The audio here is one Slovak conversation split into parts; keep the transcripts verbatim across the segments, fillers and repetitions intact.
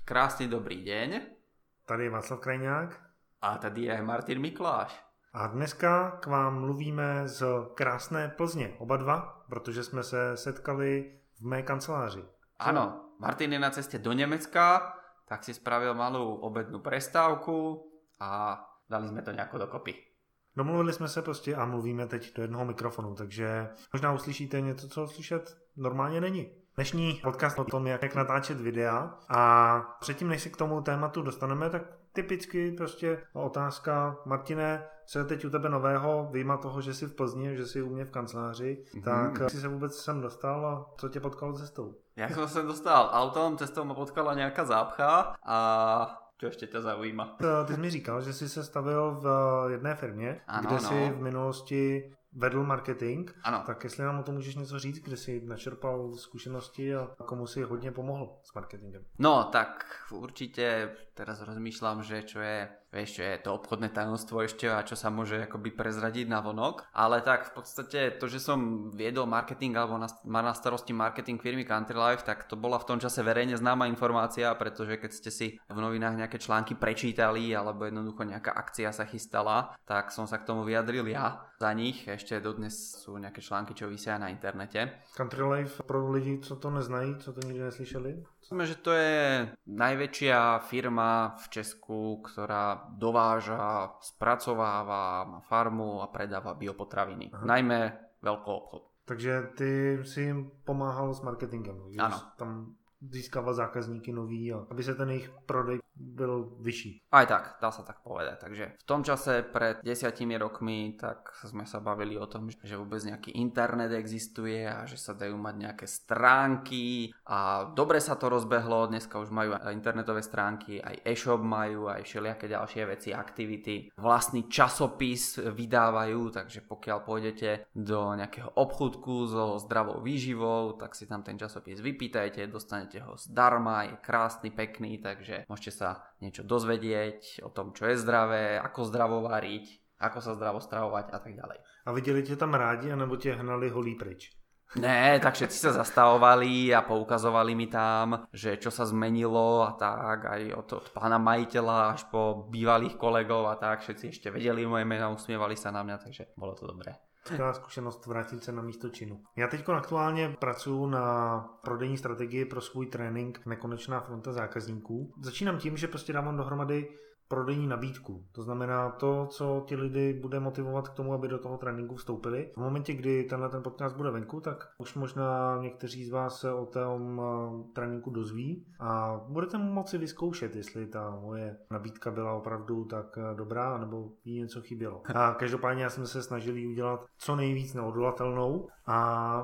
Krásný dobrý deň. Tady je Václav Krajňák. A tady je Martin Mikláš. A dneska k vám mluvíme z krásné Plzně, oba dva, protože jsme se setkali v mé kanceláři. Áno, Martin je na ceste do Nemecka, tak si spravil malou obednú prestávku a dali sme to nejako dokopy. Domluvili jsme se prostě a mluvíme teď do jednoho mikrofonu, takže možná uslyšíte něco, co slyšet normálně není. Dnešní podcast o tom, jak natáčet videa, a předtím, než se k tomu tématu dostaneme, tak typicky prostě otázka: Martine, co je teď u tebe nového, vyjma toho, že jsi v Plzni, že jsi u mě v kanceláři, mm-hmm. tak jsi se vůbec sem dostal a co tě potkalo cestou? Jak som sa dostal autom, cestou ma potkala nejaká zápcha a čo ešte ťa zaujíma? Ty jsi mi říkal, že jsi se stavil v jedné firmě, ano, kde ano. jsi v minulosti vedl marketing, ano. Tak jestli nám o tom můžeš něco říct, kde jsi načerpal zkušenosti a komu si hodně pomohl s marketingem? No, tak určite teraz rozmýšľam, že čo je, vieš, čo je to obchodné tajomstvo ešte a čo sa môže akoby prezradiť na vonok, ale tak v podstate to, že som viedol marketing alebo mal na starosti marketing firmy Country Life, tak to bola v tom čase verejne známa informácia, pretože keď ste si v novinách nejaké články prečítali alebo jednoducho nejaká akcia sa chystala, tak som sa k tomu vyjadril ja za nich. Ešte dodnes sú nejaké články, čo vysia na internete. Country Life pro lidi, co to neznají, co to nikdy neslyšeli? Myslím, že to je najväčšia firma v Česku, ktorá dováža, spracováva, má farmu a predáva biopotraviny. Aha. Najmä veľký obchod. Takže ty si jim pomáhal s marketingem, že ano. Tam získával zákazníky nový, a aby se ten jejich prodej byl vyšší. Aj tak, dá sa tak povedať. Takže v tom čase pred desiatimi rokmi tak sme sa bavili o tom, že vôbec nejaký internet existuje a že sa dajú mať nejaké stránky a dobre sa to rozbehlo. Dneska už majú internetové stránky, aj e-shop majú, aj všelijaké ďalšie veci, aktivity. Vlastný časopis vydávajú, takže pokiaľ pôjdete do nejakého obchudku so zdravou výživou, tak si tam ten časopis vypýtajte, dostanete ho zdarma, je krásny, pekný, takže môžete sa niečo dozvedieť o tom, čo je zdravé, ako zdravo variť, ako sa zdravo stravovať a tak ďalej. A viděli tě tam rádi, anebo tě hnali holí pryč? Ne, tak všetci sa zastavovali a poukazovali mi tam, že čo sa zmenilo a tak, aj od, od pána majiteľa až po bývalých kolegov a tak, všetci ešte vedeli moje meno, usmievali sa na mňa, takže bolo to dobré. Skvělá zkušenost vrátit se na místo činu. Já teď aktuálně pracuji na prodejní strategii pro svůj trénink Nekonečná fronta zákazníků. Začínám tím, že prostě dávám dohromady prodejní nabídku. To znamená to, co ti lidi bude motivovat k tomu, aby do toho tréninku vstoupili. V momentě, kdy tenhle ten podcast bude venku, tak už možná někteří z vás se o tom tréninku dozví a budete moci vyzkoušet, jestli ta moje nabídka byla opravdu tak dobrá, nebo jí něco chybělo. A každopádně já jsem se snažil jí udělat co nejvíc neodolatelnou a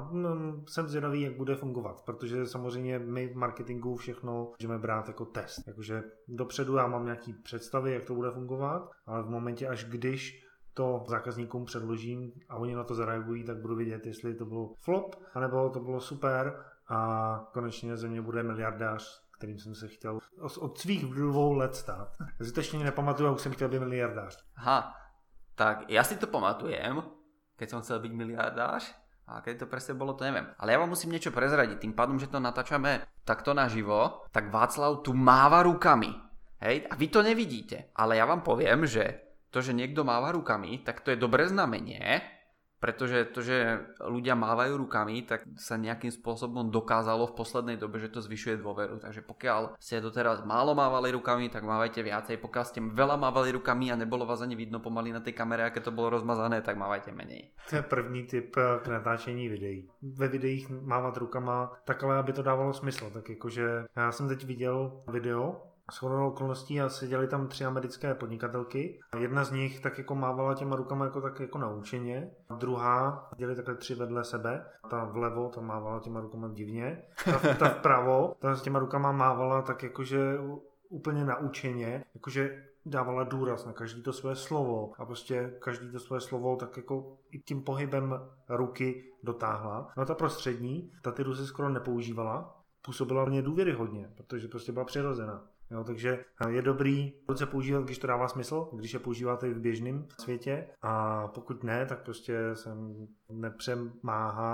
hm, jsem zvědavý, jak bude fungovat, protože samozřejmě my v marketingu všechno můžeme brát jako test. Jakože dopředu já mám nějaký představ, jak to bude fungovat, ale v momentě, až když to zákazníkům předložím a oni na to zareagují, tak budu vidět, jestli to bylo flop, anebo to bylo super a konečně ze mě bude miliardář, kterým jsem se chtěl od svých dvou let stát. Já si to ještě nepamatuju, a už jsem chtěl být miliardář. Aha, tak ja si to pamatujem, keď som chcel byť miliardář, a keď to presne bolo, to neviem. Ale ja vám musím niečo prezradiť, tým pádom, že to natáčame takto naživo, tak Václav tu máva rukami. Hej, a vy to nevidíte, ale ja vám poviem, že to, že niekto máva rukami, tak to je dobré znamenie, pretože to, že ľudia mávajú rukami, tak sa nejakým spôsobom dokázalo v poslednej dobe, že to zvyšuje dôveru. Takže pokiaľ ste doteraz málo mávali rukami, tak mávajte viacej. Pokiaľ ste veľa mávali rukami a nebolo vás ani vidno pomaly na tej kamere, aké to bolo rozmazané, tak mávajte menej. To je první tip k natáčení videí. Ve videích mávat rukama tak, ale aby to dávalo smysl. Tak jakože já jsem teď viděl video shodou okolností a seděli tam tři americké podnikatelky. Jedna z nich tak jako mávala těma rukama jako tak jako naučeně. Druhá dělali takhle tři vedle sebe. Ta vlevo, ta mávala těma rukama divně. Ta, ta vpravo, ta s těma rukama mávala tak jakože úplně naučeně. Jakože dávala důraz na každý to své slovo a prostě každý to své slovo tak jako i tím pohybem ruky dotáhla. No a ta prostřední, ta ty ruce skoro nepoužívala. Působila mě důvěryhodně, protože prostě byla přirozená. Jo, takže je dobrý ruce používat, když to dává smysl, když je používáte i v běžném světě, a pokud ne, tak prostě se nepřemáhat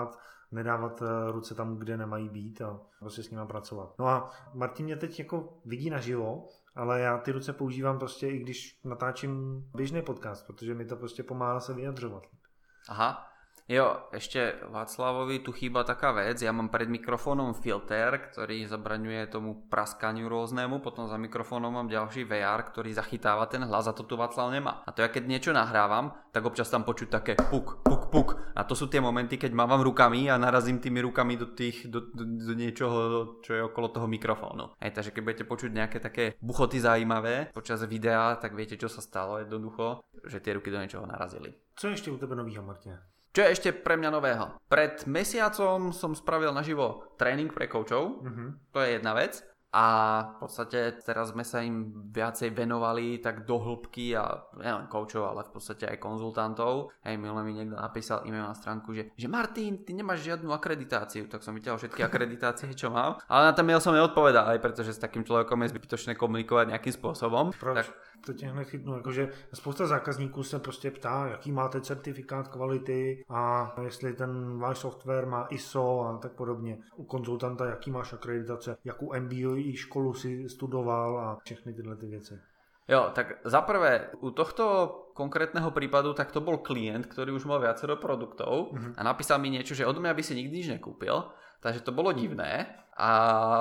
nedávat ruce tam, kde nemají být a prostě s nima pracovat. No a Martin mě teď jako vidí naživo, ale já ty ruce používám prostě i když natáčím běžný podcast, protože mi to prostě pomáhá se vyjadřovat. Aha. Jo, ešte Václavovi tu chýba taká vec, ja mám pred mikrofónom filter, ktorý zabraňuje tomu praskaniu rôznemu, potom za mikrofónom mám ďalší vé er, ktorý zachytáva ten hlas a to tu Václav nemá. A to ja keď niečo nahrávam, tak občas tam počuť také puk, puk, puk. A to sú tie momenty, keď mávam rukami a narazím tými rukami do tých, do, do, do niečoho, čo je okolo toho mikrofónu. Hej, takže keď budete počuť nejaké také buchoty zaujímavé počas videa, tak viete, čo sa stalo jednoducho, že tie ruky do niečoho narazili. Co ešte u tebe novýho, Martina? Čo je ešte pre mňa nového? Pred mesiacom som spravil naživo tréning pre koučov, mm-hmm. To je jedna vec. A v podstate teraz sme sa im viacej venovali tak do hĺbky a nielen koučov, ale v podstate aj konzultantov. Hej, minule mi niekto napísal e-mail na stránku, že, že Martin, ty nemáš žiadnu akreditáciu, tak som vytiaľ všetky akreditácie, čo mám. Ale na ten mail som neodpovedal, aj pretože s takým človekom je zbytočné komunikovať nejakým spôsobom. Proč? Tak... To tě hned chytnu, jakože spousta zákazníků se prostě ptá, jaký máte certifikát kvality a jestli ten váš software má í es ó a tak podobně. U konzultanta, jaký máš akreditace, jakou em bé á školu si studoval a všechny tyhle ty věci. Jo, tak za prvé, u tohto konkrétneho prípadu, tak to bol klient, ktorý už mal viacero produktov mm-hmm. a napísal mi niečo, že odo mňa by si nikdy nič nekúpil, takže to bolo divné. A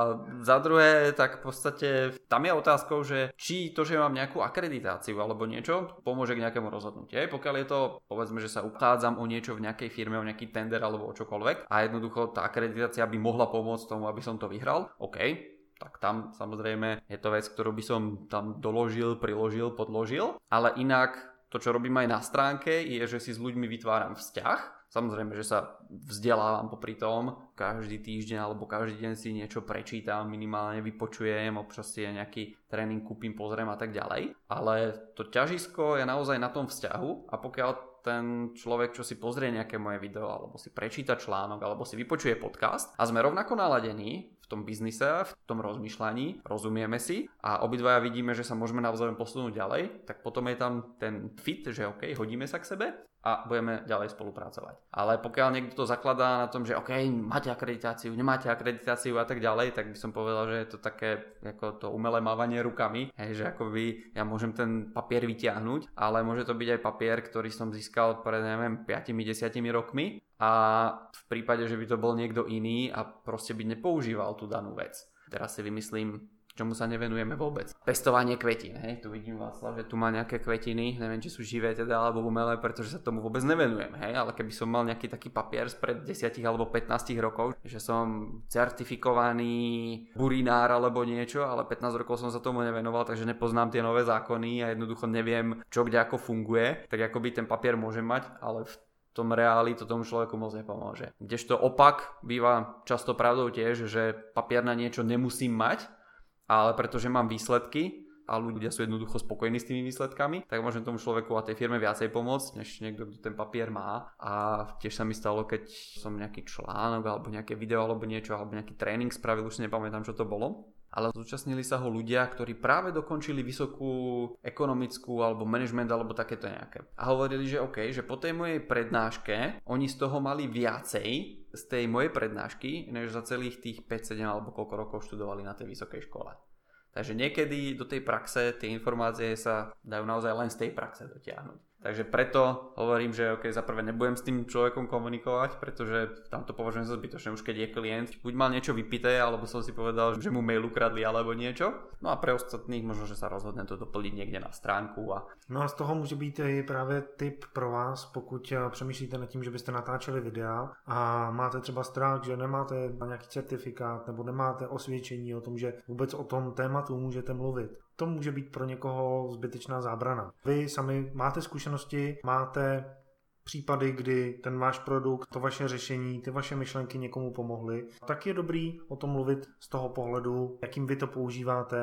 za druhé, tak v podstate tam je otázkou, že či to, že mám nejakú akreditáciu alebo niečo, pomôže k nejakému rozhodnutiu. Pokiaľ je to, povedzme, že sa uchádzam o niečo v nejakej firme, o nejaký tender alebo o čokoľvek a jednoducho tá akreditácia by mohla pomôcť tomu, aby som to vyhral, OK. Tak tam samozrejme je to vec, ktorú by som tam doložil, priložil, podložil. Ale inak to, čo robím aj na stránke, je, že si s ľuďmi vytváram vzťah. Samozrejme, že sa vzdelávam popri tom. Každý týždeň alebo každý deň si niečo prečítam, minimálne vypočujem, občas si nejaký tréning kúpim, pozriem a tak ďalej. Ale to ťažisko je naozaj na tom vzťahu a pokiaľ ten človek, čo si pozrie nejaké moje video alebo si prečíta článok alebo si vypočuje podcast a sme rovnako naladení v tom biznise, v tom rozmýšľaní, rozumieme si a obidvaja vidíme, že sa môžeme navzájom posunúť ďalej, tak potom je tam ten fit, že OK, hodíme sa k sebe a budeme ďalej spolupracovať. Ale pokiaľ niekto to zakladá na tom, že OK, máte akreditáciu, nemáte akreditáciu a tak ďalej, tak by som povedal, že je to také ako to umelé mávanie rukami, hej, že akoby ja môžem ten papier vyťahnuť, ale môže to byť aj papier, ktorý som získal pred, neviem, päť až desať rokmi a v prípade, že by to bol niekto iný a proste by nepoužíval tú danú vec. Teraz si vymyslím, čomu sa nevenujeme vôbec. Pestovanie kvetín, hej, tu vidím Václav, že tu má nejaké kvetiny, neviem, či sú živé teda alebo umelé, pretože sa tomu vôbec nevenujem, hej, ale keby som mal nejaký taký papier spred desať alebo pätnásť rokov, že som certifikovaný burinár alebo niečo, ale pätnásť rokov som sa tomu nevenoval, takže nepoznám tie nové zákony a jednoducho neviem, čo kde ako funguje, tak akoby ten papier môžem mať, ale v tom reáli to tomu človeku moc nepomôže. Kdežto opak býva často pravdou tiež, že papier na niečo nemusím mať, ale pretože mám výsledky a ľudia sú jednoducho spokojní s tými výsledkami, tak môžem tomu človeku a tej firme viacej pomôcť, než niekto, kto ten papier má. A tiež sa mi stalo, keď som nejaký článok alebo nejaké video alebo niečo, alebo nejaký tréning spravil, už si nepamätám, čo to bolo. Ale zúčastnili sa ho ľudia, ktorí práve dokončili vysokú ekonomickú alebo management alebo takéto nejaké. A hovorili, že OK, že po tej mojej prednáške oni z toho mali viacej z tej mojej prednášky, než za celých tých päť sedem alebo koľko rokov študovali na tej vysokej škole. Takže niekedy do tej praxe tie informácie sa dajú naozaj len z tej praxe dotiahnuť. Takže preto hovorím, že ok, za prvé nebudem s tým človekom komunikovať, pretože tam to považujem za zbytočné, už keď je klient, buď mal niečo vypité, alebo som si povedal, že mu mail ukradli alebo niečo. No a pre ostatných možno, že sa rozhodne to doplniť niekde na stránku. A... No a z toho může být i právě tip pro vás, pokud přemýšlíte nad tím, že byste natáčeli videa a máte třeba strach, že nemáte nějaký certifikát nebo nemáte osvědčení o tom, že vůbec o tom tématu můžete mluvit. To může být pro někoho zbytečná zábrana. Vy sami máte zkušenosti, máte případy, kdy ten váš produkt, to vaše řešení, ty vaše myšlenky někomu pomohly. Tak je dobrý o tom mluvit z toho pohledu, jakým vy to používáte.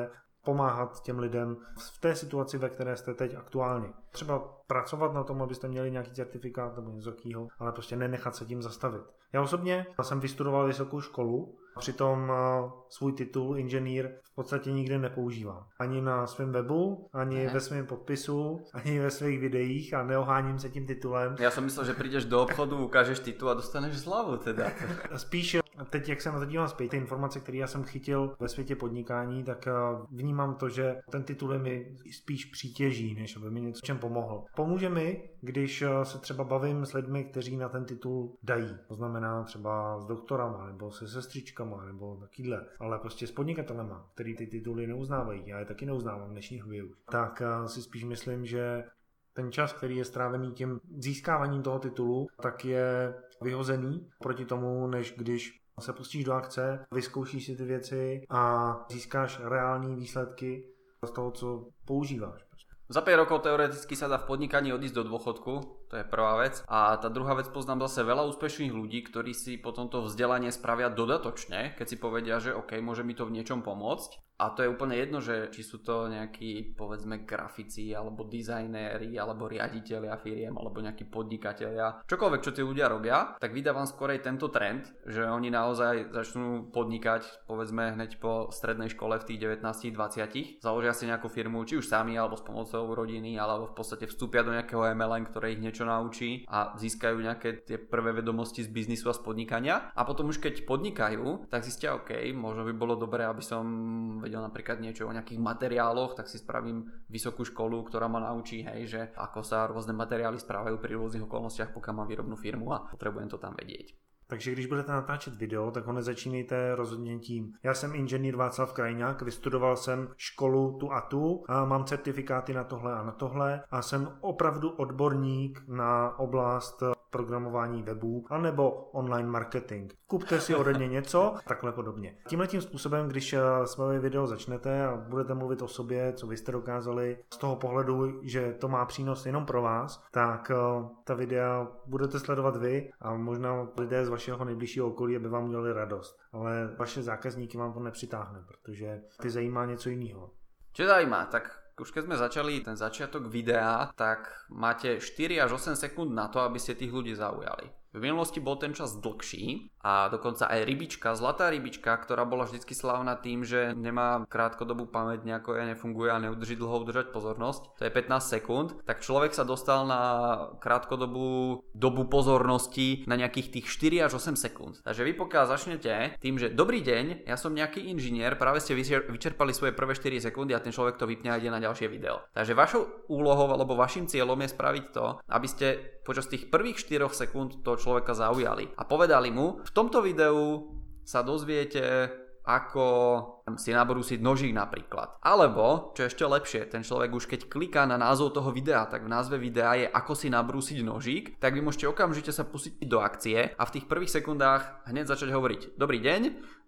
pomáhat těm lidem v té situaci, ve které jste teď aktuálně. Třeba pracovat na tom, abyste měli nějaký certifikát nebo něco takového, ale prostě nenechat se tím zastavit. Já osobně jsem vystudoval vysokou školu, přitom svůj titul inženýr v podstatě nikdy nepoužívám. Ani na svém webu, ani ne. ve svém podpisu, ani ve svých videích a neoháním se tím titulem. Já jsem myslel, že přijdeš do obchodu, ukážeš titul a dostaneš slavu teda. Spíš teď, jak se na to dívám zpět, ty informace, které já jsem chytil ve světě podnikání, tak vnímám to, že ten titul je mi spíš přítěží, než aby mi něco čem pomohl. Pomůže mi, když se třeba bavím s lidmi, kteří na ten titul dají. To znamená třeba s doktorama, nebo se sestřičkama, nebo takýhle. Ale prostě s podnikatelema, který ty tituly neuznávají. Já je taky neuznávám v dnešní době už. Tak si spíš myslím, že ten čas, který je strávený tím získáváním toho titulu, tak je vyhozený proti tomu, než když se pustíš do akce, vyzkoušíš si ty věci a získáš reální výsledky z toho, co používáš. Za päť rokov teoreticky sa dá v podnikaní odísť do dôchodku, to je prvá vec. A tá druhá vec, poznám zase veľa úspešných ľudí, ktorí si potom to vzdelanie spravia dodatočne, keď si povedia, že OK, môže mi to v niečom pomôcť. A to je úplne jedno, že či sú to nejakí, povedzme, grafici, alebo dizajnéri, alebo riaditelia firiem, alebo nejakí podnikatelia. Čokoľvek, čo tí ľudia robia, tak vydávam skorej tento trend, že oni naozaj začnú podnikať, povedzme, hneď po strednej škole v tých devätnásť dvadsať. Založia si nejakú firmu, či už sami, alebo s pomocou rodiny, alebo v podstate vstúpia do nejakého em el em, ktoré ich niečo naučí a získajú nejaké tie prvé vedomosti z biznisu a z podnikania. A potom už keď podnikajú, tak zistia, OK, možno by bolo dobré, aby som vedel napríklad niečo o nejakých materiáloch, tak si spravím vysokú školu, ktorá ma naučí, hej, že ako sa rôzne materiály správajú pri rôznych okolnostiach, pokiaľ mám výrobnú firmu a potrebujem to tam vedieť. Takže když budete natáčet video, tak ho nezačínejte rozhodně tím. Já jsem inženýr Václav Krajňák, vystudoval jsem školu tu a tu, a mám certifikáty na tohle a na tohle a jsem opravdu odborník na oblast programování webů anebo online marketing. Kupte si ode mě něco, takhle podobně. Tímhletím způsobem, když své video začnete a budete mluvit o sobě, co vy jste dokázali, z toho pohledu, že to má přínos jenom pro vás, tak ta videa budete sledovat vy a možná lidé z vašeho nejbližšího okolí, aby vám udělali radost. Ale vaše zákazníky vám to nepřitáhne, protože ty zajímá něco jiného. Čo zajímá? Tak už keď sme začali ten začiatok videa, tak máte štyri až osem sekúnd na to, aby ste tých ľudí zaujali. V minulosti bol ten čas dlhší a dokonca aj rybička, zlatá rybička, ktorá bola vždycky slávna tým, že nemá krátkodobú pamäť, nejako ja nefunguje a neudrží dlho udržať pozornosť, to je pätnásť sekúnd, tak človek sa dostal na krátkodobú dobu pozornosti na nejakých tých štyri až osem sekúnd. Takže vy pokiaľ začnete tým, že dobrý deň, ja som nejaký inžinier, práve ste vyčerpali svoje prvé štyri sekundy a ten človek to vypne a ide na ďalšie video. Takže vašou úlohou alebo vašim cieľom je spraviť to, aby ste počas tých prvých štyroch sekúnd to človeka zaujali a povedali mu, v tomto videu sa dozviete, ako si nabrúsiť nožík napríklad. Alebo, čo ešte lepšie, ten človek už keď kliká na názov toho videa, tak v názve videa je ako si nabrúsiť nožík, tak vy môžete okamžite sa pustiť do akcie a v tých prvých sekundách hneď začať hovoriť: dobrý deň,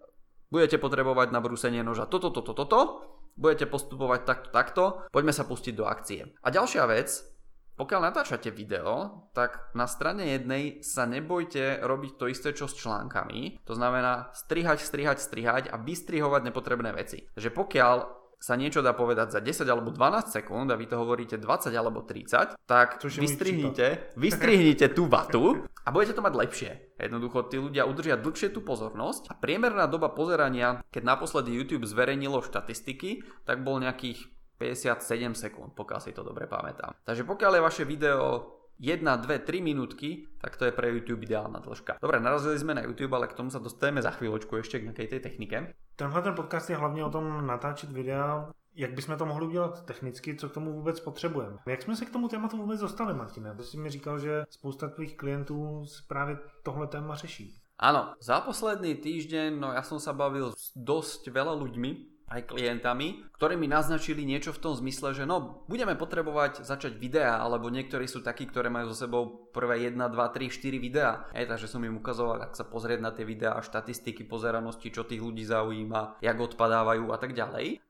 budete potrebovať na brúsenie noža toto, toto, toto, budete postupovať takto, takto, poďme sa pustiť do akcie. A ďalšia vec, pokiaľ natáčate video, tak na strane jednej sa nebojte robiť to isté, čo s článkami. To znamená strihať, strihať, strihať a vystrihovať nepotrebné veci. Takže pokiaľ sa niečo dá povedať za desať alebo dvanásť sekúnd a vy to hovoríte dvadsať alebo tridsať, tak vystrihnite, vystrihnite tú vatu a budete to mať lepšie. Jednoducho tí ľudia udržia dlhšie tú pozornosť a priemerná doba pozerania, keď naposledy YouTube zverejnilo štatistiky, tak bol nejakých päťdesiatsedem sekúnd, pokiaľ si to dobre pamätám. Takže pokiaľ je vaše video jedna, dve, tri minútky, tak to je pre YouTube ideálna dĺžka. Dobre, narazili sme na YouTube, ale k tomu sa dostaneme za chvíľočku ešte k nejakej tej technike. Tenhle ten podcast je hlavně o tom natáčet videa, jak bychom to mohli udělat technicky, co k tomu vůbec potřebujeme. Jak jsme se k tomu tématu vůbec dostali, Martine? Ty jsi mi říkal, že spousta tvých klientů právě tohle téma řeší. Áno, za posledný týždeň, no ja som sa bavil s dosť veľa ľuďmi, aj klientami, ktorí mi naznačili niečo v tom zmysle, že no, budeme potrebovať začať videá, alebo niektorí sú takí, ktoré majú so sebou prvé jedna, dva, tri, štyri videá. Ej, takže som im ukazoval, ak sa pozrieť na tie videá, štatistiky pozeranosti, čo tých ľudí zaujíma, jak odpadávajú a tak ďalej.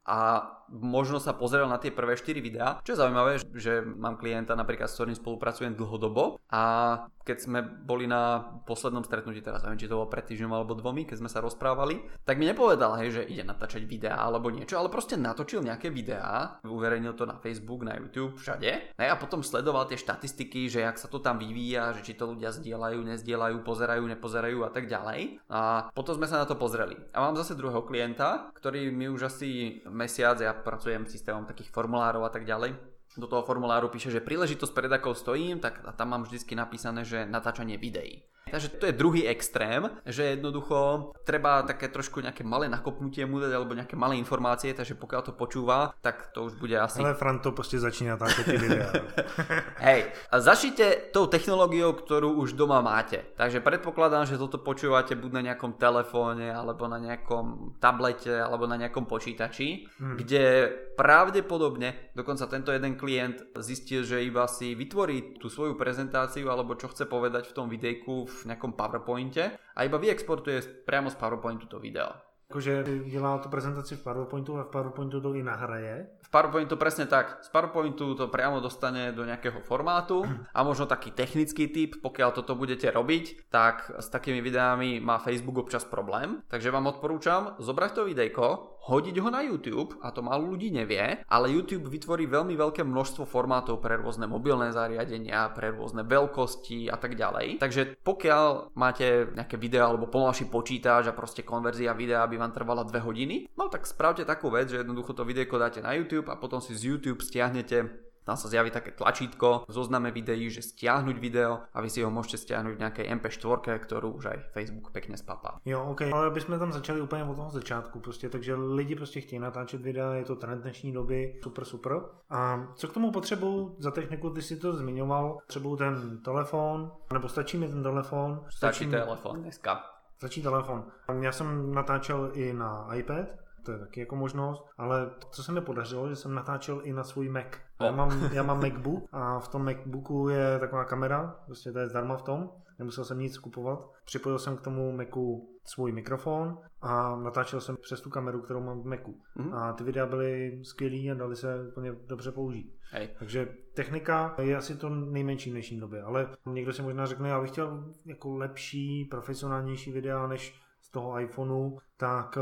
a možno sa pozrel na tie prvé štyri videá. Čo je zaujímavé, že mám klienta napríklad, s ktorým spolupracujem dlhodobo a keď sme boli na poslednom stretnutí, teraz neviem, či to bolo pred týždňom alebo dvomi, keď sme sa rozprávali, tak mi nepovedal, hej, že ide natáčať videá alebo niečo, ale proste natočil nejaké videá, uverejnil to na Facebook, na YouTube, všade. A potom sledoval tie štatistiky, že jak sa to tam vyvíja, že či to ľudia zdieľajú, nezdieľajú, pozerajú, nepozerajú a tak ďalej. A potom sme sa na to pozreli. A mám zase druhého klienta, ktorý mi už asi mesiac, ja pracujem systémom takých formulárov a tak ďalej, do toho formuláru píše, že príležitosť, pred akou stojím, tak tam mám vždycky napísané, že natáčanie videí. Takže to je druhý extrém, že jednoducho treba také trošku nejaké malé nakopnutie mu dať alebo nejaké malé informácie, takže pokiaľ to počúva, tak to už bude asi... Ale Fran to proste začína táto tie videá. Hej, a začnite tou technológiou, ktorú už doma máte. Takže predpokladám, že toto počúvate buď na nejakom telefóne, alebo na nejakom tablete, alebo na nejakom počítači, hmm. kde pravdepodobne, dokonca tento jeden klient zistil, že iba si vytvorí tú svoju prezentáciu, alebo čo chce povedať v tom videjku v nejakom PowerPointe a iba vyexportuje priamo z PowerPointu to video. Akože dělá tu prezentaci v PowerPointu a v PowerPointu to i nahraje? V PowerPointu presne tak. Z PowerPointu to priamo dostane do nejakého formátu a možno taký technický tip, pokiaľ toto budete robiť, tak s takými videami má Facebook občas problém. Takže vám odporúčam zobrať to videjko, hodiť ho na YouTube, a to málo ľudí nevie, ale YouTube vytvorí veľmi veľké množstvo formátov pre rôzne mobilné zariadenia, pre rôzne veľkosti a tak ďalej. Takže pokiaľ máte nejaké video alebo pomalší počítač a proste konverzia videa by vám trvala dve hodiny, no tak spravte takú vec, že jednoducho to videjko dáte na YouTube a potom si z YouTube stiahnete, tam sa zjaví také tlačítko v zozname videí, že stiahnuť video a vy si ho môžete stiahnuť v nejakej em pé štyri, ktorú už aj Facebook pekne spapá. Jo, ok, ale bychom tam začali úplně od toho začátku, prostě, takže lidi prostě chtějí natáčet videa, je to trend dnešní doby, super, super. A co k tomu potřebují za techniku, ty si to zmiňoval, potřebují ten telefon, nebo stačí mi ten telefon? Stačí mi... telefon dneska. Stačí telefon. Já jsem natáčel i na iPad, to je taky jako možnost, ale co se mi podařilo, že jsem natáčel i na svůj Mac. Oh. Já, mám, já mám MacBook a v tom MacBooku je taková kamera, prostě to je zdarma v tom, nemusel jsem nic kupovat. Připojil jsem k tomu Macu svůj mikrofon a natáčel jsem přes tu kameru, kterou mám v Macu. Mm-hmm. A ty videa byly skvělý a dali se úplně dobře použít. Hej. Takže technika je asi to nejmenší v dnešní době, ale někdo si možná řekne, já bych chtěl jako lepší, profesionálnější videa než z toho iPhoneu, tak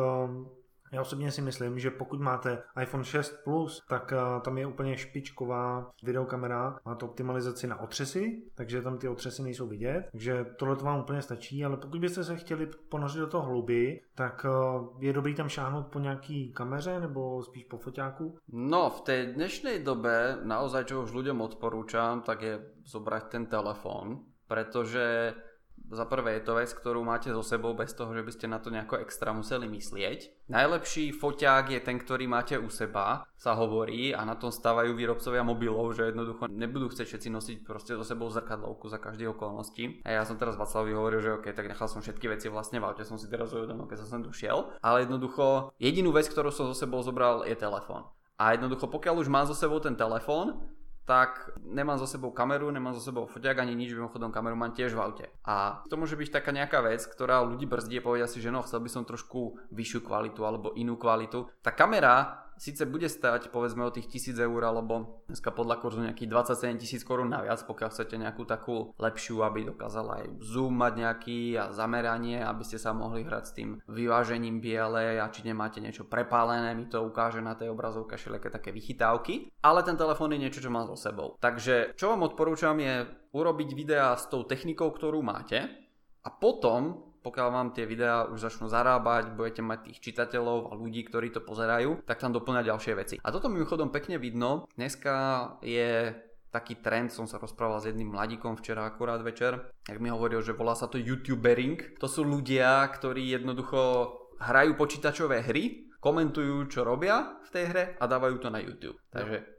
já osobně si myslím, že pokud máte iPhone šest plus, tak uh, tam je úplně špičková videokamera, má to optimalizaci na otřesy, takže tam ty otřesy nejsou vidět, takže tohle to vám úplně stačí, ale pokud byste se chtěli ponořit do toho hlouběji, tak uh, je dobrý tam šáhnout po nějaký kameře nebo spíš po foťáku? No, v tej dnešnej dobe naozaj, čo už ľuďom odporúčam, tak je zobrať ten telefón, pretože za prvé je to vec, ktorú máte so sebou bez toho, že by ste na to nejako extra museli myslieť. Najlepší foťák je ten, ktorý máte u seba, sa hovorí, a na tom stávajú výrobcovia mobilov, že jednoducho nebudú chcieť všetci nosiť proste so sebou zrkadlovku za každej okolnosti. A ja som teraz Václavovi hovoril, že ok, tak nechal som všetky veci vlastne v aute, som si teraz uvedomil, keď som sem došiel, ale jednoducho jedinú vec, ktorú som so sebou zobral, je telefón. A jednoducho pokiaľ už mám so sebou ten telefón, tak nemám so sebou kameru, nemám so sebou foťák ani nič, mimochodom kameru mám tiež v aute. A to môže byť taká nejaká vec, ktorá ľudí brzdí a povedia si, že no, chcel by som trošku vyššiu kvalitu alebo inú kvalitu. Tá kamera síce bude stať povedzme o tých tisíc eur, alebo dneska podľa kurzu nejakých dvadsaťsedem tisíc korún naviac, pokiaľ chcete nejakú takú lepšiu, aby dokázala aj zoom mať nejaký a zameranie, aby ste sa mohli hrať s tým vyvážením biele a či nemáte niečo prepálené, mi to ukáže na tej obrazovke všelijaké také vychytávky, ale ten telefón je niečo, čo mám so sebou. Takže čo vám odporúčam je urobiť videá s tou technikou, ktorú máte, a potom pokiaľ vám tie videá už začnú zarábať, budete mať tých čitateľov a ľudí, ktorí to pozerajú, tak tam doplňať ďalšie veci. A toto mimochodom pekne vidno. Dneska je taký trend, som sa rozprával s jedným mladíkom včera akurát večer, jak mi hovoril, že volá sa to YouTubering. To sú ľudia, ktorí jednoducho hrajú počítačové hry, komentujú, čo robia v tej hre a dávajú to na YouTube. Takže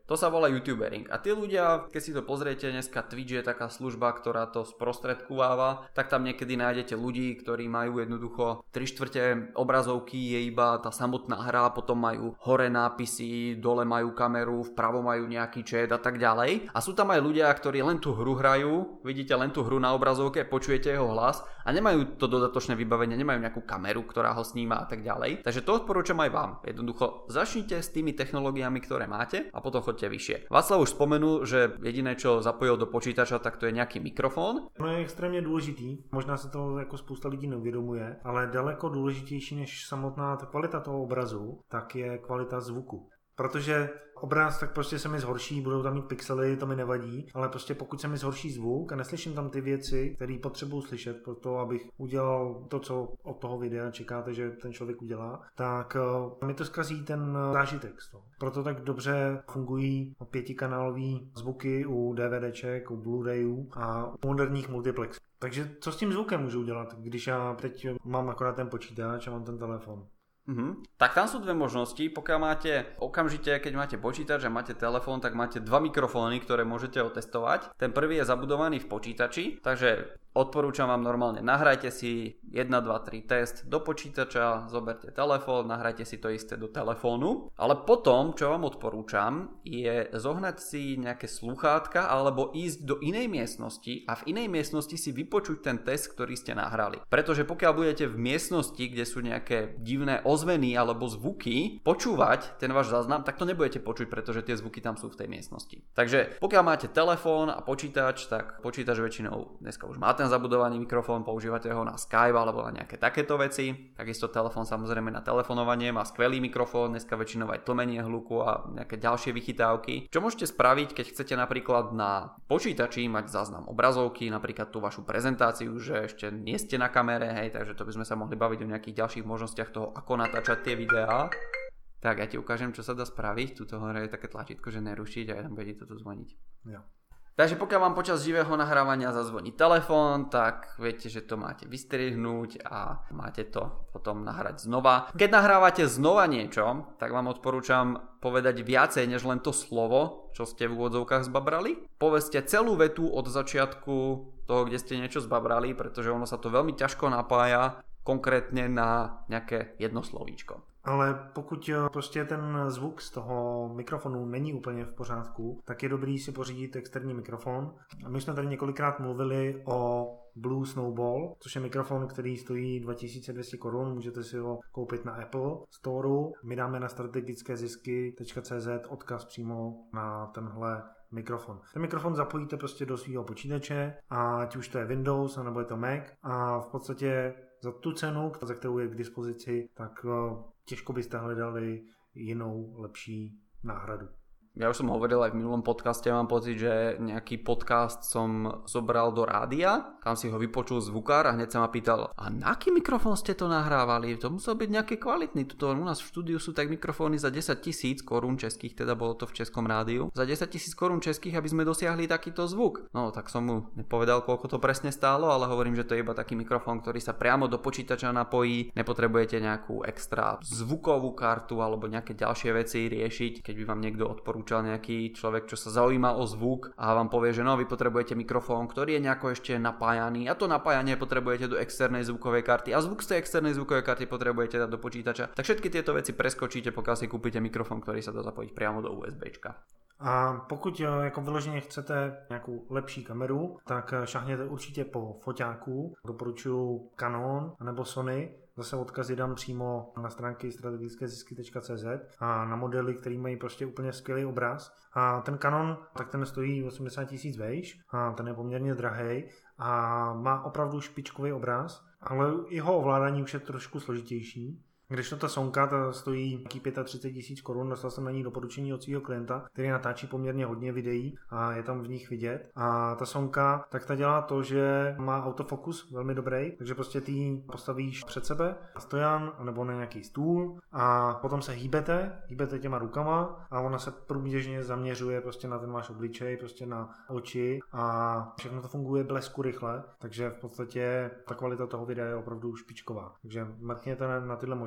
To sa volá youtubering. A tí ľudia, keď si to pozriete, dneska Twitch je taká služba, ktorá to sprostredkováva, tak tam niekedy nájdete ľudí, ktorí majú jednoducho tri štvrte obrazovky je iba tá samotná hra, potom majú hore nápisy, dole majú kameru, vpravo majú nejaký chat a tak ďalej. A sú tam aj ľudia, ktorí len tú hru hrajú, vidíte len tú hru na obrazovke, počujete jeho hlas a nemajú to dodatočné vybavenie, nemajú nejakú kameru, ktorá ho sníma a tak ďalej. Takže to odporúčam aj vám. Jednoducho začnite s tými technológiami, ktoré máte a potom choďte vyššie. Václav už spomenul, že jediné, čo zapojil do počítača, tak to je nejaký mikrofon. No je extrémně důležitý, možná se to jako spousta lidí neuvědomuje, ale daleko důležitější než samotná ta kvalita toho obrazu, tak je kvalita zvuku. Protože obraz tak prostě se mi zhorší, budou tam mít pixely, to mi nevadí, ale prostě pokud se mi zhorší zvuk a neslyším tam ty věci, které potřebuji slyšet pro to, abych udělal to, co od toho videa čekáte, že ten člověk udělá, tak mi to zkazí ten zážitek z toho. Proto tak dobře fungují pětikanálový zvuky u DVDček, u Blu-rayů a u moderních multiplexů. Takže co s tím zvukem můžu udělat, když já teď mám akorát ten počítač a mám ten telefon? Uh-huh. Tak tam sú dve možnosti. Pokiaľ máte okamžite, keď máte počítač a máte telefón, tak máte dva mikrofóny, ktoré môžete otestovať. Ten prvý je zabudovaný v počítači, takže odporúčam vám normálne, nahrajte si jeden, dva, tri test do počítača, zoberte telefón, nahrajte si to isté do telefónu, ale potom, čo vám odporúčam, je zohnať si nejaké slúchátka alebo ísť do inej miestnosti a v inej miestnosti si vypočuť ten test, ktorý ste nahrali. Pretože pokiaľ budete v miestnosti, kde sú nejaké divné ozveny alebo zvuky, počúvať ten váš záznam, tak to nebudete počuť, pretože tie zvuky tam sú v tej miestnosti. Takže pokiaľ máte telefón a počítač, tak počítač väčšinou dneska už má ten zabudovaný mikrofón, používate ho na Skype alebo na nejaké takéto veci. Takisto telefón samozrejme na telefonovanie má skvelý mikrofón, dneska väčšinou aj tlmenie hluku a nejaké ďalšie vychytávky. Čo môžete spraviť, keď chcete napríklad na počítači mať záznam obrazovky, napríklad tú vašu prezentáciu, že ešte nie ste na kamere, hej, takže to by sme sa mohli baviť o nejakých ďalších možnostiach toho, ako natáčať tie videá. Tak ja ti ukážem, čo sa dá spraviť. Tuto hore je také tlačítko, že nerušiť a ja tam bude to tu zvoniť. Jo. Takže pokiaľ vám počas živého nahrávania zazvoní telefón, tak viete, že to máte vystrihnúť a máte to potom nahrať znova. Keď nahrávate znova niečo, tak vám odporúčam povedať viacej než len to slovo, čo ste v úvodzovkách zbabrali. Povedzte celú vetu od začiatku toho, kde ste niečo zbabrali, pretože ono sa to veľmi ťažko napája konkrétne na nejaké jedno slovíčko. Ale pokud prostě ten zvuk z toho mikrofonu není úplně v pořádku, tak je dobrý si pořídit externí mikrofon. A my jsme tady několikrát mluvili o Blue Snowball, což je mikrofon, který stojí dva tisíce dvě stě korun, můžete si ho koupit na Apple Storeu. My dáme na strategické zisky tečka cé zet odkaz přímo na tenhle mikrofon. Ten mikrofon zapojíte prostě do svého počítače, a ať už to je Windows nebo je to Mac, a v podstatě za tu cenu, za kterou je k dispozici, tak těžko byste hledali jinou, lepší náhradu. Ja už som hovoril aj v minulom podcaste, mám pocit, že nejaký podcast som zobral do rádia, kam si ho vypočul zvukár a hneď sa ma pýtal, a na aký mikrofón ste to nahrávali? To musel byť nejaký kvalitný. Tuto u nás v štúdiu sú tak mikrofóny za desať tisíc korún českých, teda bolo to v českom rádiu. Za desať tisíc korún českých, aby sme dosiahli takýto zvuk. No tak som mu nepovedal, koľko to presne stálo, ale hovorím, že to je iba taký mikrofón, ktorý sa priamo do počítača napojí. Nepotrebujete nejakú extra zvukovú kartu alebo nejaké ďalšie veci riešiť, keď by vám niekto odporúčal nejaký človek, čo sa zaujíma o zvuk a vám povie, že no, vy potrebujete mikrofón, ktorý je nejako ešte napájaný a to napájanie potrebujete do externej zvukovej karty a zvuk z tej externej zvukovej karty potrebujete dať do počítača. Tak všetky tieto veci preskočíte, pokiaľ si kúpite mikrofón, ktorý sa dá zapojiť priamo do USBčka. A pokud jako vyloženě chcete nějakou lepší kameru, tak šahněte určitě po foťáku. Doporučuji Canon nebo Sony. Zase odkazy dám přímo na stránky strategické zisky tečka cé zet a na modely, který mají prostě úplně skvělý obraz. A ten Canon, tak ten stojí osmdesát tisíc vejš a ten je poměrně drahý a má opravdu špičkový obraz, ale jeho ovládání už je trošku složitější. Když to ta Sonka ta stojí třicet pět tisíc korun, dostal jsem na ní doporučení od svého klienta, který natáčí poměrně hodně videí a je tam v nich vidět. A ta Sonka, tak ta dělá to, že má autofokus velmi dobrý, takže prostě ty ji postavíš před sebe na stojan nebo na nějaký stůl a potom se hýbete, hýbete těma rukama a ona se průběžně zaměřuje prostě na ten váš obličej, prostě na oči a všechno to funguje blesku rychle, takže v podstatě ta kvalita toho videa je opravdu špičková. Takže mrkněte na tyhle možnosti.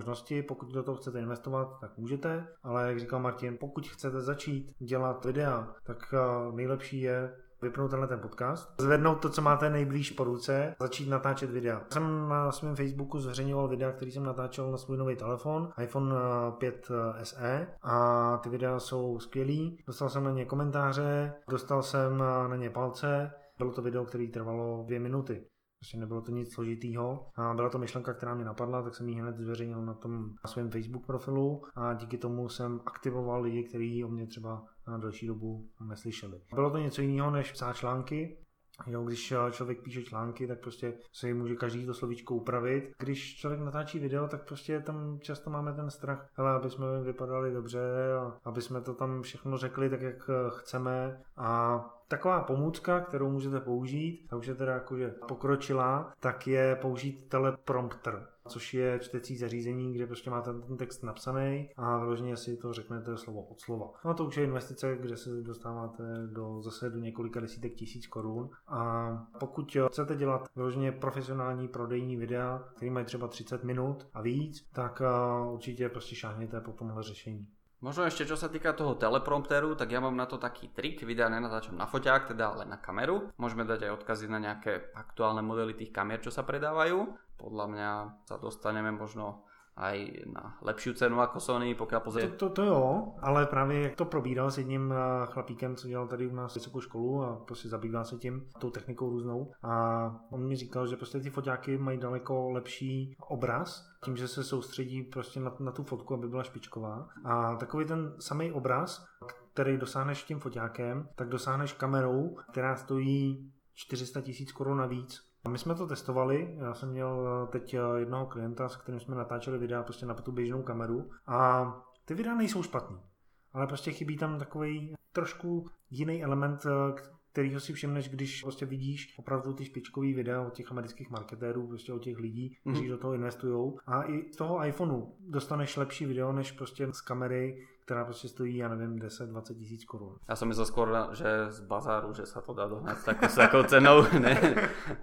možnosti, pokud do toho chcete investovat, tak můžete, ale jak říkal Martin, pokud chcete začít dělat videa, tak nejlepší je vypnout tenhle ten podcast, zvednout to, co máte nejblíž po ruce, začít natáčet videa. Jsem na svém Facebooku zveřejňoval videa, který jsem natáčel na svůj nový telefon, iPhone pět S E, a ty videa jsou skvělý. Dostal jsem na ně komentáře, dostal jsem na ně palce, bylo to video, které trvalo dvě minuty. Prostě nebylo to nic složitýho a byla to myšlenka, která mě napadla, tak jsem ji hned zveřejnil na tom na svém Facebook profilu a díky tomu jsem aktivoval lidi, kteří o mě třeba na delší dobu neslyšeli. Bylo to něco jiného než psát články. Jo, když člověk píše články, tak prostě se může každý to slovíčko upravit. Když člověk natáčí video, tak prostě tam často máme ten strach, hele, aby jsme vypadali dobře a aby jsme to tam všechno řekli tak, jak chceme. A taková pomůcka, kterou můžete použít, a už je teda jakože pokročilá, tak je použít teleprompter, což je čtecí zařízení, kde prostě máte ten text napsaný a vyloženě si to řeknete slovo od slova. No to už je investice, kde se dostáváte do, zase do několika desítek tisíc korun. A pokud chcete dělat vyloženě profesionální prodejní videa, který mají třeba třicet minut a víc, tak určitě prostě šáhněte po tomhle řešení. Možno ešte čo sa týka toho teleprompteru, tak ja mám na to taký trik, videa nenatáčam na foťák, teda ale na kameru. Môžeme dať aj odkazy na nejaké aktuálne modely tých kamier, čo sa predávajú. Podľa mňa sa dostaneme možno aj na lepšiu cenu ako Sony, pokiaľ pozrie... To, to, to jo, ale právě jak to probíral s jedním chlapíkem, co dělal tady u nás vysokou školu a prostě zabývá se tím, tou technikou různou, a on mi říkal, že prostě ty foťáky mají daleko lepší obraz, tím, že se soustředí prostě na, na tu fotku, aby byla špičková, a takový ten samý obraz, který dosáhneš tím foťákem, tak dosáhneš kamerou, která stojí čtyři sta tisíc korun navíc. A my jsme to testovali, já jsem měl teď jednoho klienta, s kterým jsme natáčeli videa prostě na tu běžnou kameru, a ty videa nejsou špatný, ale prostě chybí tam takový trošku jiný element, kterýho si všimneš, když prostě vidíš opravdu ty špičkový videa od těch amerických marketérů, prostě od těch lidí, kteří mm. do toho investujou, a i z toho iPhoneu dostaneš lepší video než prostě z kamery, která prostě stojí, já nevím, deset dvacet tisíc korun. Já jsem myslel skôr, že z bazáru, že se to dá dohnat s takou, s takou cenou. Ne.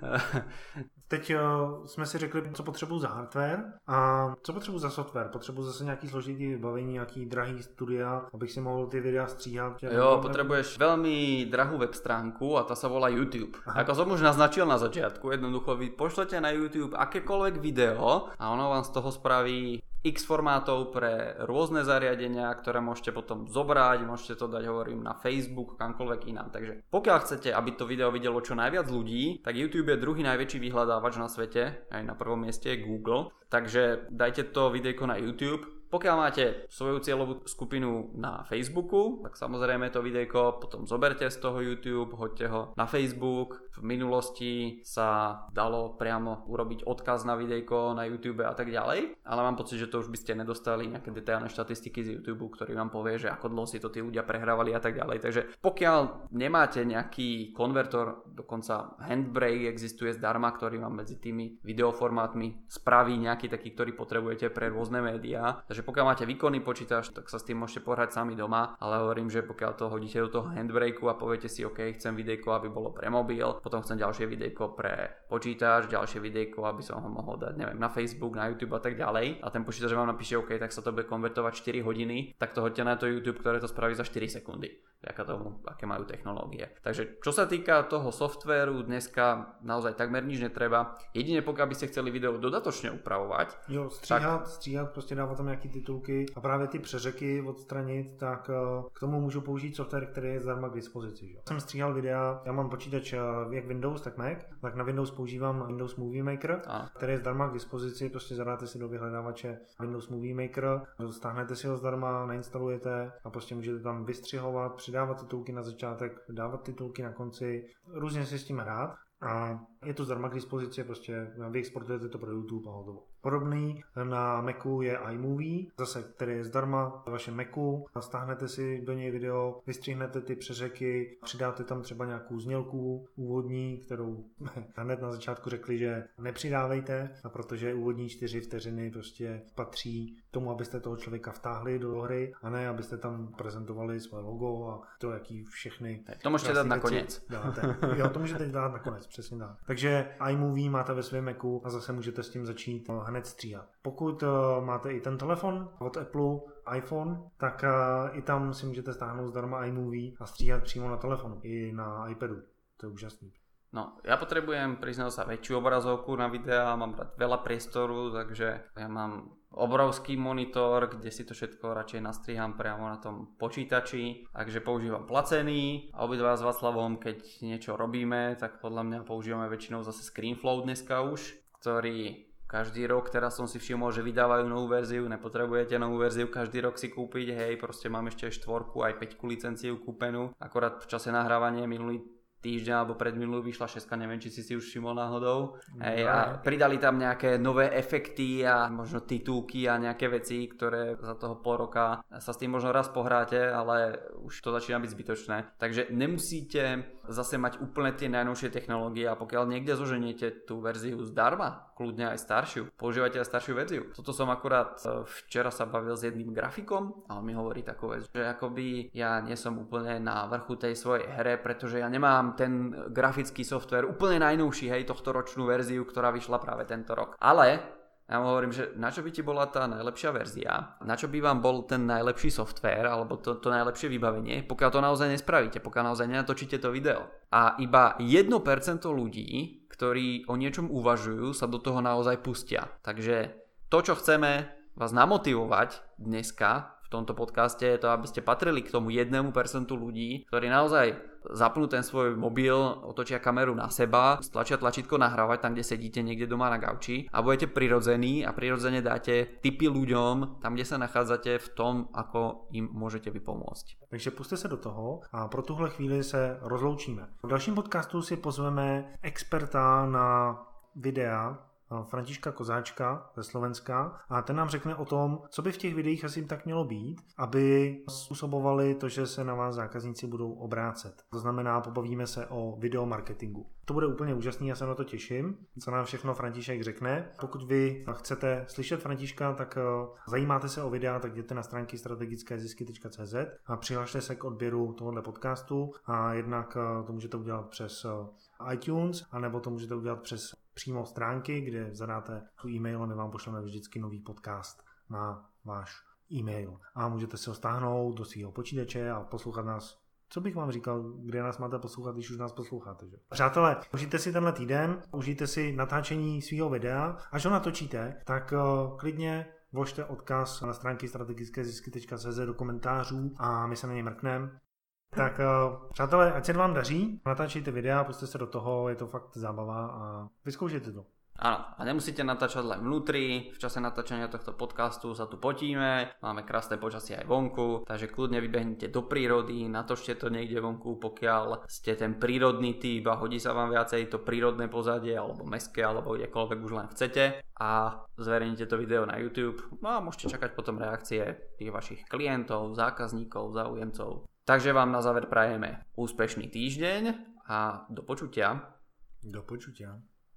Teď uh, jsme si řekli, co potřebuji za hardware a co potřebuji za software. Potřebuji zase nějaký složitý vybavení, nějaký drahý studia, abych si mohl ty videa stříhat. Jo, potrebuješ veľmi drahú web stránku a ta sa volá YouTube. Aha. Ako som už naznačil na začiatku, jednoducho vy pošlete na YouTube akékoľvek video a ono vám z toho spraví X formátov pre rôzne zariadenia, ktoré môžete potom zobrať, môžete to dať, hovorím, na Facebook, kamkoľvek inám. Takže pokiaľ chcete, aby to video videlo čo najviac ľudí, tak YouTube je druhý najväčší vyhľadávač na svete, aj na prvom mieste je Google. Takže dajte to videjko na YouTube. Pokiaľ máte svoju cieľovú skupinu na Facebooku, tak samozrejme to videjko potom zoberte z toho YouTube, hoďte ho na Facebook. V minulosti sa dalo priamo urobiť odkaz na videjko na YouTube a tak ďalej, ale mám pocit, že to už by ste nedostali nejaké detailné štatistiky z YouTube, ktorý vám povie, že ako dlho si to tí ľudia prehrávali a tak ďalej. Takže pokiaľ nemáte nejaký konvertor, dokonca Handbrake existuje zdarma, ktorý vám medzi tými videoformátmi spraví nejaký taký, ktorý potrebujete pre rôzne médiá. Takže pokiaľ máte výkonný počítač, tak sa s tým môžete pohrať sami doma, ale hovorím, že pokiaľ to hodíte do toho Handbrakeu a poviete si, OK, chcem videjko, aby bolo pre mobil, potom chcem ďalšie videjko pre počítač, ďalšie videjko, aby som ho mohol dať, neviem, na Facebook, na YouTube a tak ďalej, a ten počítač vám napíše OK, tak sa to bude konvertovať štyri hodiny, tak to hoďte na to YouTube, ktoré to spraví za štyri sekundy. Vďaka tomu, aké majú technológie. Takže čo sa týka toho softvéru, dneska naozaj takmer nič netreba. Jedine pokiaľ by ste chceli video dodatočne upravovať. Jo, stříhat, tak... stříhat, prostě dávat tam nějaký titulky a právě ty přeřeky odstranit, tak k tomu můžu použít software, který je zdarma k dispozici. Že? Jsem stříhal videa, já mám počítač jak Windows, tak Mac, tak na Windows používám Windows Movie Maker, a. který je zdarma k dispozici, prostě zadáte si do vyhledávače Windows Movie Maker, stáhnete si ho zdarma, nainstalujete a prostě můžete tam vystřihovat, přidávat titulky na začátek, dávat titulky na konci, různě si s tím hrát. A je to zdarma k dispozici, prostě vy exportujete to pro YouTube a hotovo. Podobný na Macu je iMovie, zase, který je zdarma na vašem Macu, stáhnete si do něj video, vystřihnete ty přeřeky, přidáte tam třeba nějakou znělku úvodní, kterou hned na začátku řekli, že nepřidávejte, a protože úvodní čtyři vteřiny prostě patří tomu, abyste toho člověka vtáhli do hry, a ne abyste tam prezentovali své logo a to, jaký všechny... To můžete dát nakonec. Dáte. Jo, to můžete dát nakonec, přesně tak. Takže iMovie máte ve svém Macu a zase můžete s tím začít hned hned stříhat. Pokud máte i ten telefon od Apple, iPhone, tak i tam si můžete stáhnout zdarma iMovie a stříhat přímo na telefonu, i na iPadu. To je úžasný. No, ja potrebujem priznať sa väčšiu obrazovku na videá, mám rád veľa priestoru, takže ja mám obrovský monitor, kde si to všetko radšej nastriham priamo na tom počítači, takže používam placený a obidva s Václavom, keď niečo robíme, tak podľa mňa používame väčšinou zase ScreenFlow dneska už, ktorý každý rok, teraz som si všimol, že vydávajú novú verziu, nepotrebujete novú verziu každý rok si kúpiť, hej, proste mám ešte štvorku aj päťku licenciu kúpenú, akorát v čase nahrávania minulý týždeň alebo predminulú vyšla šestka, neviem, či si si už všimol náhodou. Hej, a pridali tam nejaké nové efekty a možno titulky a nejaké veci, ktoré za toho pol roka sa s tým možno raz pohráte, ale už to začína byť zbytočné. Takže nemusíte zase mať úplne tie najnovšie technológie a pokiaľ niekde zoženiete tú verziu zdarma, kľudne aj staršiu, používajte aj staršiu verziu. Toto som akurát včera sa bavil s jedným grafikom a on mi hovorí takú vec, že akoby ja nie som úplne na vrchu tej svojej hre, pretože ja nemám ten grafický software úplne najnovší, hej, tohto ročnú verziu, ktorá vyšla práve tento rok. Ale ja mu hovorím, že na čo by ti bola tá najlepšia verzia, na čo by vám bol ten najlepší software alebo to, to najlepšie vybavenie, pokiaľ to naozaj nespravíte, pokiaľ naozaj nenatočíte to video. A iba jedno percento ľudí, ktorí o niečom uvažujú, sa do toho naozaj pustia. Takže to, čo chceme vás namotivovať dneska v tomto podcaste, je to, aby ste patrili k tomu jednému percentu ľudí, ktorí naozaj zapnú ten svoj mobil, otočia kameru na seba, stlačia tlačítko nahrávať tam, kde sedíte niekde doma na gauči a budete prirodzení a prirodzene dáte tipy ľuďom tam, kde sa nachádzate v tom, ako im môžete vypomôcť. Takže puste se do toho a pro tuhle chvíli se rozloučíme. V dalším podcastu si pozveme experta na videa, Františka Kozáčka ze Slovenska a ten nám řekne o tom, co by v těch videích asi tak mělo být, aby způsobovali to, že se na vás zákazníci budou obrácet. To znamená, pobavíme se o videomarketingu. To bude úplně úžasný, já se na to těším, co nám všechno František řekne. Pokud vy chcete slyšet Františka, tak zajímáte se o videa, tak jděte na stránky strategické zisky tečka cé zet a přihlašte se k odběru tohoto podcastu a jednak to můžete udělat přes iTunes, anebo to můžete udělat přes přímo stránky, kde zadáte tu e-mail a my vám pošleme vždycky nový podcast na váš e-mail. A můžete si ho stáhnout do svého počítače a poslouchat nás. Co bych vám říkal, kde nás máte poslouchat, když už nás posloucháte, že? Přátelé, užijte si tenhle týden, užijte si natáčení svého videa. Až ho natočíte, tak uh, klidně vložte odkaz na stránky strategické zisky tečka cé zet do komentářů a my se na ně mrkneme. Tak přátelé, ať se vám daří, natáčejte videa, pusťte se do toho, je to fakt zábava a vyzkoušejte to. Áno, a nemusíte natáčať len vnútri, v čase natáčania tohto podcastu sa tu potíme, máme krásne počasie aj vonku, takže kľudne vybehnite do prírody, natočte to niekde vonku, pokiaľ ste ten prírodný typ a hodí sa vám viacej to prírodné pozadie, alebo mestské, alebo kdekoľvek už len chcete a zverejnite to video na YouTube, no a môžete čakať potom reakcie tých vašich klientov, zákazníkov, záujemcov. Takže vám na záver prajeme úspešný týždeň a do počutia. Do počutia.